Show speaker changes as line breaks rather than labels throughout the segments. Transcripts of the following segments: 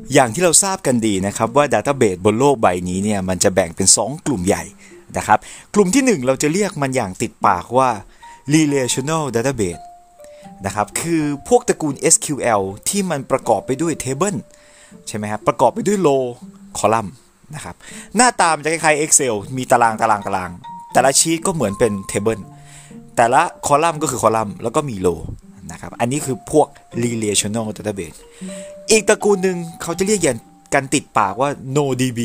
อย่างที่เราทราบกันดีนะครับว่า Database บนโลกใบนี้เนี่ยมันจะแบ่งเป็น2กลุ่มใหญ่นะครับกลุ่มที่1เราจะเรียกมันอย่างติดปากว่า Relational Database นะครับคือพวกตระกูล SQL ที่มันประกอบไปด้วย Table ใช่ไหมครับประกอบไปด้วย Row Column นะครับหน้าตามจะคล้ายๆ Excel มีตารางแต่ละชีตก็เหมือนเป็น Table แต่ละคอลัมน์ก็คือคอลัมน์แล้วก็มี Row นะครับอันนี้คือพวก Relational Database อีกตระกูลหนึ่งเขาจะเรียกอย่างกันติดปากว่า NoDB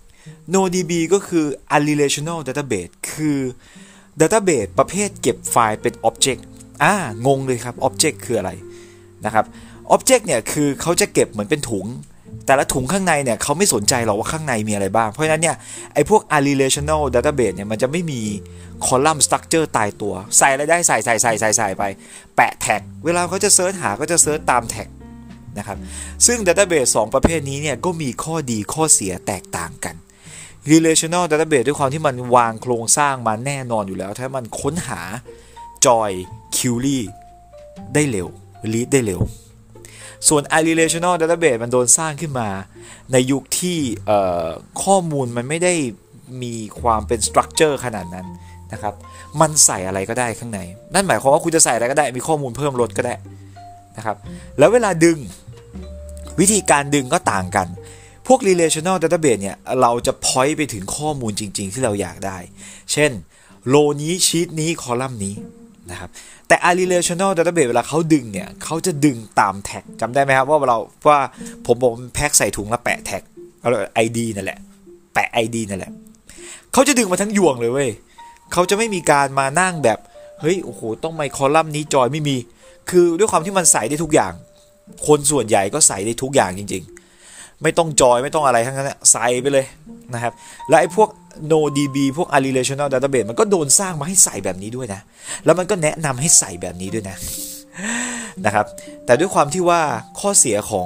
NoDB ก็คือ Unrelational Database คือ Database ประเภทเก็บไฟล์เป็น Object งงเลยครับ Object คืออะไรนะครับ Object เนี่ยคือเขาจะเก็บเหมือนเป็นถุงแต่ละถุงข้างในเนี่ยเขาไม่สนใจหรอกว่าข้างในมีอะไรบ้างเพราะฉะนั้นเนี่ยไอ้พวก Unrelational Database เนี่ยมันจะไม่มีคอลัมน์ structure ตายตัวใส่อะไรได้ใส่ไปแปะแท็กเวลาเขาจะเซิร์ชหาก็จะเซิร์ชตามแท็กนะครับซึ่ง Database 2 ประเภทนี้เนี่ยก็มีข้อดีข้อเสียแตกต่างกัน Relational Database ด้วยความที่มันวางโครงสร้างมาแน่นอนอยู่แล้วถ้ามันค้นหา Join Query ได้เร็ว Read ได้เร็วส่วน Unrelational Database มันโดนสร้างขึ้นมาในยุคที่ข้อมูลมันไม่ได้มีความเป็น structure ขนาดนั้นนะครับมันใส่อะไรก็ได้ข้างในนั่นหมายความว่าคุณจะใส่อะไรก็ได้มีข้อมูลเพิ่มลดก็ได้นะครับแล้วเวลาดึงวิธีการดึงก็ต่างกันพวก relational database เนี่ยเราจะ point ไปถึงข้อมูลจริงๆที่เราอยากได้เช่นโลนี้ชีตนี้คอลัมน์นี้นะครับแต่ unrelational database เวลาเขาดึงเนี่ยเขาจะดึงตามแท็กจำได้ไหมครับว่าผมบอกแพ็คใส่ถุงแล้วแปะแท็กเอา ID นั่นแหละแปะ ID นั่นแหละเขาจะดึงมาทั้งยวงเลยเว้ยเขาจะไม่มีการมานั่งแบบเฮ้ยโอ้โหต้องมาคอลัมน์นี้จอยไม่มีคือด้วยความที่มันใส่ได้ทุกอย่างคนส่วนใหญ่ก็ใส่ได้ทุกอย่างจริงๆไม่ต้องจอยไม่ต้องอะไรทั้งนั้นใส่ไปเลยนะครับและไอ้พวก NoDB พวก Unrelational Database มันก็โดนสร้างมาให้ใส่แบบนี้ด้วยนะแล้วมันก็แนะนำให้ใส่แบบนี้ด้วยนะครับแต่ด้วยความที่ว่าข้อเสียของ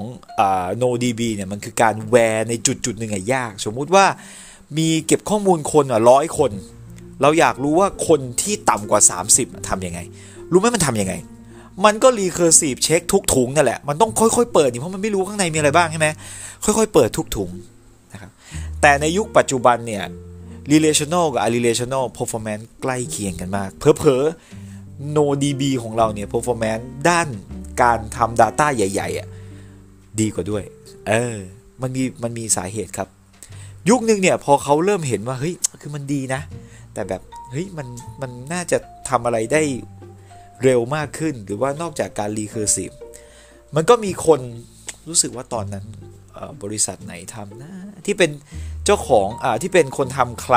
NoDB เนี่ยมันคือการแวร์ในจุดๆหนึ่งยากสมมุติว่ามีเก็บข้อมูลคน100 คนเราอยากรู้ว่าคนที่ต่ำกว่า30ทำยังไงรู้ไหมมันทำยังไงมันก็ recursive เช็คทุกถุงนั่นแหละมันต้องค่อยๆเปิดเพราะมันไม่รู้ข้างในมีอะไรบ้างใช่ไหมค่อยๆเปิดทุกถุงนะครับแต่ในยุคปัจจุบันเนี่ย relational กับ unrelational performance ใกล้เคียงกันมากเผลอๆ NoDB ของเราเนี่ย performance ด้านการทำ data ใหญ่ๆดีกว่าด้วยมันมีสาเหตุครับยุคนึงเนี่ยพอเขาเริ่มเห็นว่าเฮ้ยคือมันดีนะแต่แบบเฮ้ยมันน่าจะทำอะไรได้เร็วมากขึ้นหรือว่านอกจากการ recursive มันก็มีคนรู้สึกว่าตอนนั้นบริษัทไหนทำนะที่เป็นเจ้าของที่เป็นคนทำ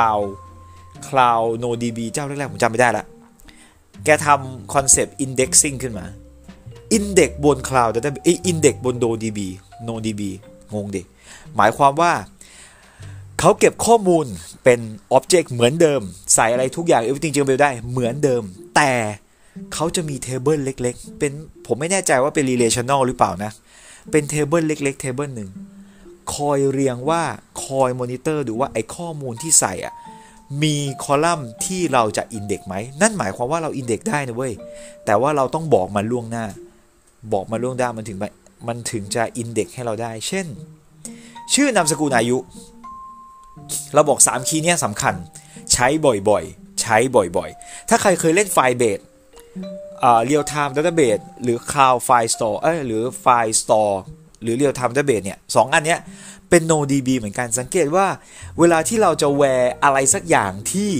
cloud NoDB เจ้าแรกๆผมจำไม่ได้ละแกทำคอนเซปต์ indexing ขึ้นมา index บน cloud index บน NoDB งงดิหมายความว่าเขาเก็บข้อมูลเป็น object เหมือนเดิมใส่อะไรทุกอย่าง everything จะเป็นได้เหมือนเดิมแต่เขาจะมี table เล็กๆเป็นผมไม่แน่ใจว่าเป็น relational หรือเปล่านะเป็น table เล็กๆ table หนึ่งคอยเรียงว่าคอย monitor ดูว่าไอ้ข้อมูลที่ใส่มีคอลัมน์ที่เราจะ index ไหมนั่นหมายความว่าเรา index ได้นะเว้ยแต่ว่าเราต้องบอกมาล่วงหน้ามันถึงจะ index ให้เราได้เช่นชื่อนามสกุลอายุเราบอก3คีย์นี้สำคัญใช้บ่อยๆถ้าใครเคยเล่นไฟล์เบสreal time database หรือ cloud file store หรือ file store หรือ real time database เนี่ย2อันเนี้ยเป็น NoDB เหมือนกันสังเกตว่าเวลาที่เราจะแวร์อะไรสักอย่างที่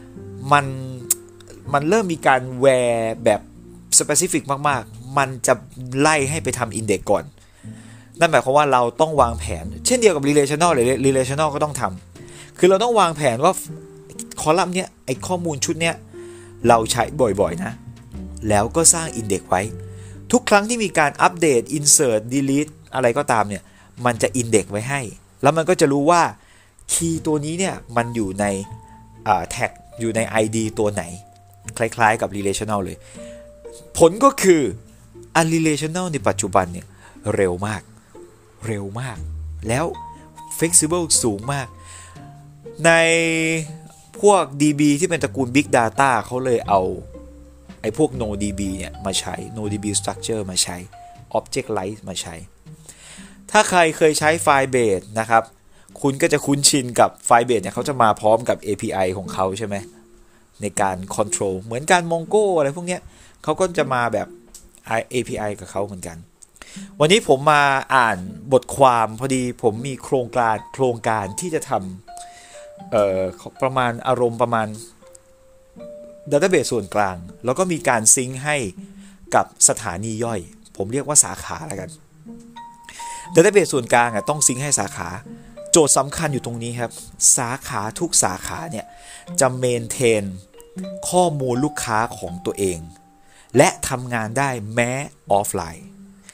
มันเริ่มมีการแวร์แบบ specific มากๆมันจะไล่ให้ไปทำ index ก่อนนั่นหมายความว่าเราต้องวางแผนเช่นเดียวกับ relational หรือ relational ก็ต้องทำคือเราต้องวางแผนว่าคอลัมน์เนี้ยไอข้อมูลชุดเนี้ยเราใช้บ่อยๆนะแล้วก็สร้าง index ไว้ทุกครั้งที่มีการอัปเดต insert delete อะไรก็ตามเนี่ยมันจะ index ไว้ให้แล้วมันก็จะรู้ว่าคีย์ตัวนี้เนี่ยมันอยู่ในแท็กอยู่ใน ID ตัวไหนคล้ายๆกับ relational เลยผลก็คือ unrelational ในปัจจุบันเนี่ยเร็วมากแล้ว flexible สูงมากในพวก DB ที่เป็นตระกูล Big Data เขาเลยเอาไอ้พวก NoDB เนี่ยมาใช้ NoDB structure มาใช้ Object Light มาใช้ถ้าใครเคยใช้ Firebase นะครับคุณก็จะคุ้นชินกับ Firebase เนี่ยเขาจะมาพร้อมกับ API ของเขาใช่ไหมในการ control เหมือนการ Mongo อะไรพวกเนี้ยเขาก็จะมาแบบ API กับเขาเหมือนกันวันนี้ผมมาอ่านบทความพอดีผมมีโครงการที่จะทำประมาณอารมณ์ประมาณ Database ส่วนกลางแล้วก็มีการซิงค์ให้กับสถานีย่อยผมเรียกว่าสาขาแล้วกัน Database ส่วนกลางต้องซิงค์ให้สาขาโจทย์สำคัญอยู่ตรงนี้ครับสาขาทุกสาขาเนี่ยจะเมนเทนข้อมูลลูกค้าของตัวเองและทำงานได้แม้ออฟไลน์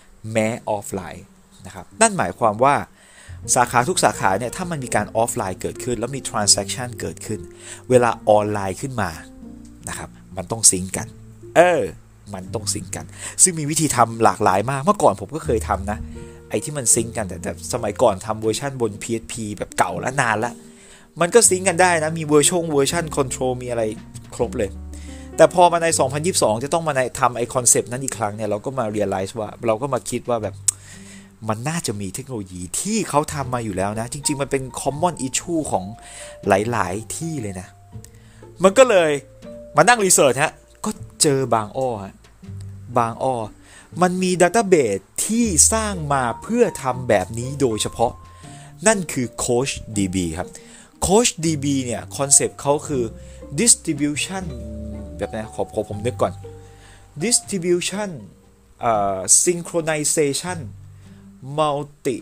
นะครับนั่นหมายความว่าสาขาทุกสาขาเนี่ยถ้ามันมีการออฟไลน์เกิดขึ้นแล้วมี transaction เกิดขึ้นเวลาออนไลน์ขึ้นมานะครับมันต้องซิงก์กันมันต้องซิงก์กันซึ่งมีวิธีทำหลากหลายมากเมื่อก่อนผมก็เคยทำนะไอ้ที่มันซิงก์กันแต่สมัยก่อนทำเวอร์ชันบน PHP แบบเก่าแล้วนานแล้วมันก็ซิงก์กันได้นะมีเวอร์ชันคอนโทรลมีอะไรครบเลยแต่พอมาใน2022จะต้องมาทำไอคอนเซปต์นั้นอีกครั้งเนี่ยเราก็มา realize ว่าเราก็มาคิดว่าแบบมันน่าจะมีเทคโนโลยีที่เขาทำมาอยู่แล้วนะจริงๆมันเป็น common issue ของหลายๆที่เลยนะมันก็เลยมานั่งรีเสิร์ชฮะก็เจอบางอ้อมันมี database ที่สร้างมาเพื่อทำแบบนี้โดยเฉพาะนั่นคือ CoachDB ครับ CoachDB เนี่ยคอนเซปต์เขาคือ distribution แบบนี้ผมนึกก่อน distribution synchronization multi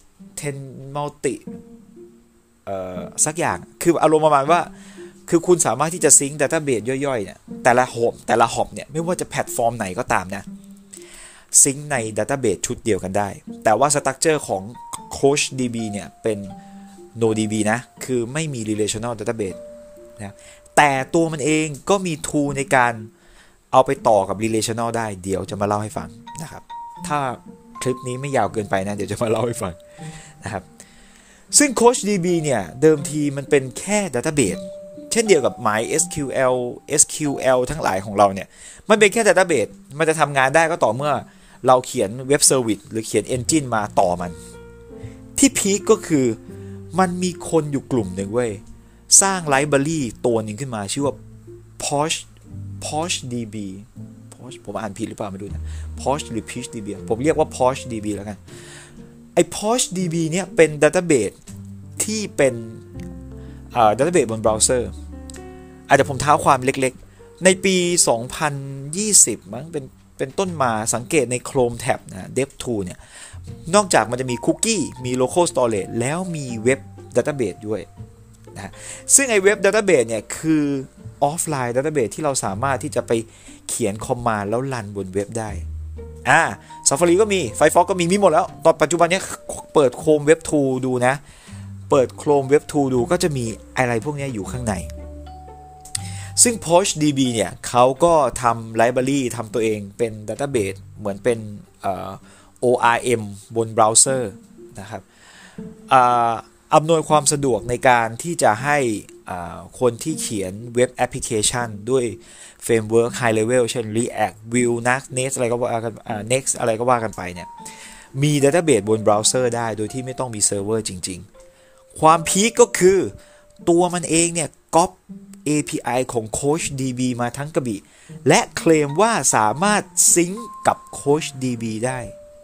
สักอย่างคืออารมณ์ประมาณว่าคือคุณสามารถที่จะซิงค์ database ย่อยๆเนี่ยแต่ละหอบเนี่ยไม่ว่าจะแพลตฟอร์มไหนก็ตามนะซิงค์ใน database ชุดเดียวกันได้แต่ว่า structure ของ CoachDB เนี่ยเป็น NoDB นะคือไม่มี relational database นะแต่ตัวมันเองก็มี tool ในการเอาไปต่อกับ relational ได้เดี๋ยวจะมาเล่าให้ฟังนะครับถ้าคลิปนี้ไม่ยาวเกินไปนะเดี๋ยวจะมาเล่าให้ฟังนะครับซึ่ง CoachDB เนี่ยเดิมทีมันเป็นแค่ database เช่นเดียวกับ MySQL SQL ทั้งหลายของเราเนี่ยมันเป็นแค่ database มันจะทำงานได้ก็ต่อเมื่อเราเขียนเว็บเซอร์วิสหรือเขียน engine มาต่อมันที่พีคก็คือมันมีคนอยู่กลุ่มหนึ่งเว้ยสร้างไลบรารีตัวหนึ่งขึ้นมาชื่อว่า PoachDB ผมอ่านผิดหรือเปล่าไม่รู้นะ Poach หรือ PeachDB ผมเรียกว่า PoachDB แล้วกันไอ้ PoachDB เนี่ยเป็น database ที่เป็นdatabase บนเบราว์เซอร์อาจจะผมเท้าความเล็กๆในปี 2020 มั้งเป็นต้นมาสังเกตใน Chrome Tab นะ DevTool เนี่ยนอกจากมันจะมีคุกกี้มี local storage แล้วมีเว็บ database ด้วยนะซึ่งไอ้เว็บ database เนี่ยคือออฟไลน์ database ที่เราสามารถที่จะไปเขียนคอมมานด์แล้วรันบนเว็บได้Safari ก็มี Firefox ก็มีหมดแล้วตอนปัจจุบันนี้เปิด Chrome Web Tool ดูนะเปิด Chrome Web Tool ดูก็จะมีอะไรพวกนี้อยู่ข้างในซึ่ง PoachDB เนี่ยเขาก็ทำไลบรารีทำตัวเองเป็น database เหมือนเป็นORM บนเบราว์เซอร์นะครับอำนวยความสะดวกในการที่จะให้คนที่เขียนเว็บแอปพลิเคชันด้วยเฟรมเวิร์ค High Level เช่น React Vue Next อะไรก็ว่ากันNext อะไรก็ว่ากันไปเนี่ยมี database บนเบราว์เซอร์ได้โดยที่ไม่ต้องมีเซิร์ฟเวอร์จริงๆความพีคก็คือตัวมันเองเนี่ยก๊อป API ของ CoachDB มาทั้งกระบี่และเคลมว่าสามารถซิงก์กับ CoachDB ได้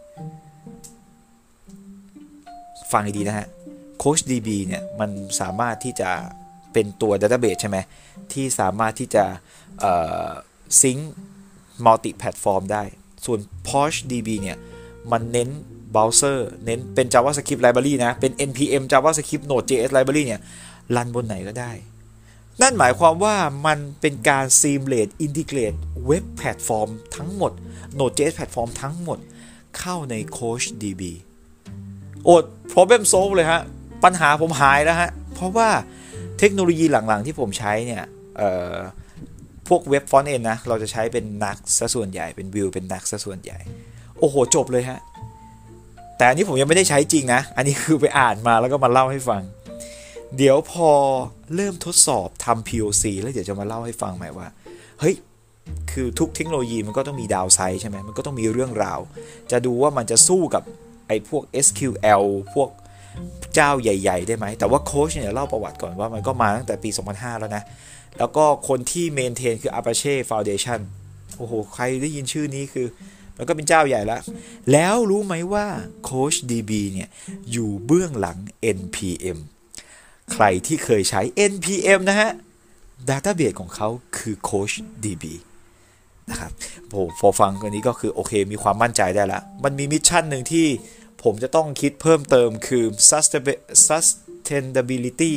ฟังให้ดีนะฮะ CoachDB เนี่ยมันสามารถที่จะเป็นตัว database ใช่ไหมที่สามารถที่จะซิงค์มัลติแพลตฟอร์มได้ส่วน PoachDB เนี่ยมันเน้นเบราว์เซอร์เน้นเป็น JavaScript library นะเป็น npm JavaScript Node.js library เนี่ยรันบนไหนก็ได้นั่นหมายความว่ามันเป็นการ seamless integrate เว็บแพลตฟอร์มทั้งหมด Node.js แพลตฟอร์มทั้งหมดเข้าใน CoachDB problem solve เลยฮะปัญหาผมหายแล้วฮะเพราะว่าเทคโนโลยีหลังๆที่ผมใช้เนี่ยพวกเว็บฟอนต์เอนนะเราจะใช้เป็น Nux ซะส่วนใหญ่เป็น Vue เป็น Nux ซะส่วนใหญ่โอ้โหจบเลยฮะแต่อันนี้ผมยังไม่ได้ใช้จริงนะอันนี้คือไปอ่านมาแล้วก็มาเล่าให้ฟังเดี๋ยวพอเริ่มทดสอบทำ POC แล้วเดี๋ยวจะมาเล่าให้ฟังใหม่ว่าเฮ้ยคือทุกเทคโนโลยีมันก็ต้องมีดาวไซด์ใช่ไหมมันก็ต้องมีเรื่องราวจะดูว่ามันจะสู้กับไอ้พวก SQL พวกเจ้าใหญ่ๆได้ไหมแต่ว่าโค้ชเนี่ยเล่าประวัติก่อนว่ามันก็มาตั้งแต่ปี 2005 แล้วนะแล้วก็คนที่เมนเทนคือ Apache Foundation โอ้โหใครได้ยินชื่อนี้คือมันก็เป็นเจ้าใหญ่แล้วรู้ไหมว่า Coach DB เนี่ยอยู่เบื้องหลัง NPM ใครที่เคยใช้ NPM นะฮะ Database ของเขาคือ Coach DB นะครับพอฟังกันนี้ก็คือโอเคมีความมั่นใจได้ละมันมีมิชชั่นหนึ่งที่ผมจะต้องคิดเพิ่มเติมคือ sustainability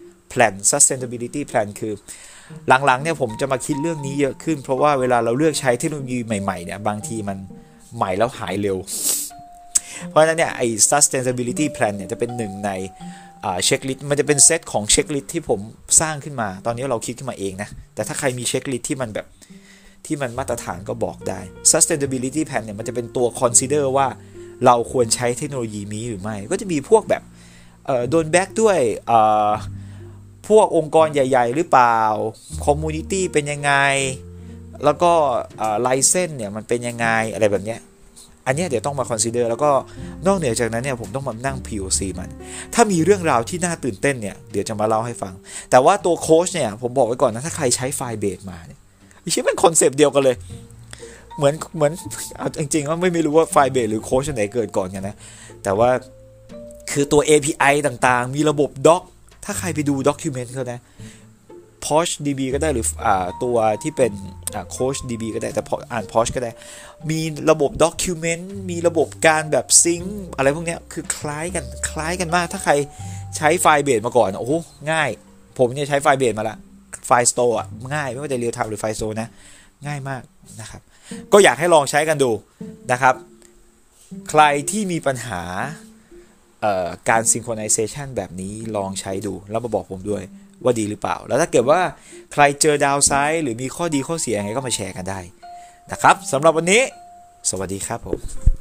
plan คือหลังๆเนี่ยผมจะมาคิดเรื่องนี้เยอะขึ้นเพราะว่าเวลาเราเลือกใช้เทคโนโลยีใหม่ๆเนี่ยบางทีมันใหม่แล้วหายเร็วเพราะฉะนั้นเนี่ยไอ้ sustainability plan เนี่ยจะเป็นหนึ่งในเช็คลิสต์มันจะเป็นเซตของเช็คลิสต์ที่ผมสร้างขึ้นมาตอนนี้เราคิดขึ้นมาเองนะแต่ถ้าใครมีเช็คลิสต์ที่มันแบบที่มันมาตรฐานก็บอกได้ sustainability plan เนี่ยมันจะเป็นตัว consider ว่าเราควรใช้เทคโนโลยีนี้หรือไม่ก็จะมีพวกแบบโดนแบ็กด้วยพวกองค์กรใหญ่ๆหรือเปล่าคอมมูนิตี้เป็นยังไงแล้วก็ไลเซนส์เนี่ยมันเป็นยังไงอะไรแบบเนี้ยอันนี้เดี๋ยวต้องมาคอนซิเดอร์แล้วก็นอกเหนือจากนั้นเนี่ยผมต้องมานั่ง POC มันถ้ามีเรื่องราวที่น่าตื่นเต้นเนี่ยเดี๋ยวจะมาเล่าให้ฟังแต่ว่าตัวโค้ชเนี่ยผมบอกไว้ก่อนนะถ้าใครใช้ไฟล์เบสมาเนี่ยไม่ใช่เป็นคอนเซปต์เดียวกันเลยเหมือนเอาจริงๆว่าไม่รู้ว่าไฟล์เบสหรือโค้ชไหนเกิดก่อนกันนะแต่ว่าคือตัว API ต่างๆมีระบบด็อกถ้าใครไปดูด็อกิวเมนต์เขานะ Posh DB ก็ได้หรือตัวที่เป็นCoach DB ก็ได้แต่อ่าน Posh ก็ได้มีระบบด็อกิวเมนต์มีระบบการแบบซิงค์อะไรพวกนี้คือคล้ายกันมากถ้าใครใช้ไฟล์เบสมาก่อนโอ้โหง่ายผมเนี่ยใช้ไฟล์เบสมาละไฟล์สโตร์ง่ายไม่ว่าจะเรียลไทม์หรือไฟล์สโตร์นะง่ายมากนะครับก็อยากให้ลองใช้กันดูนะครับใครที่มีปัญหาการ synchronization แบบนี้ลองใช้ดูแล้วมาบอกผมด้วยว่าดีหรือเปล่าแล้วถ้าเกิดว่าใครเจอดาวไซด์หรือมีข้อดีข้อเสียยังไงก็มาแชร์กันได้นะครับสำหรับวันนี้สวัสดีครับผม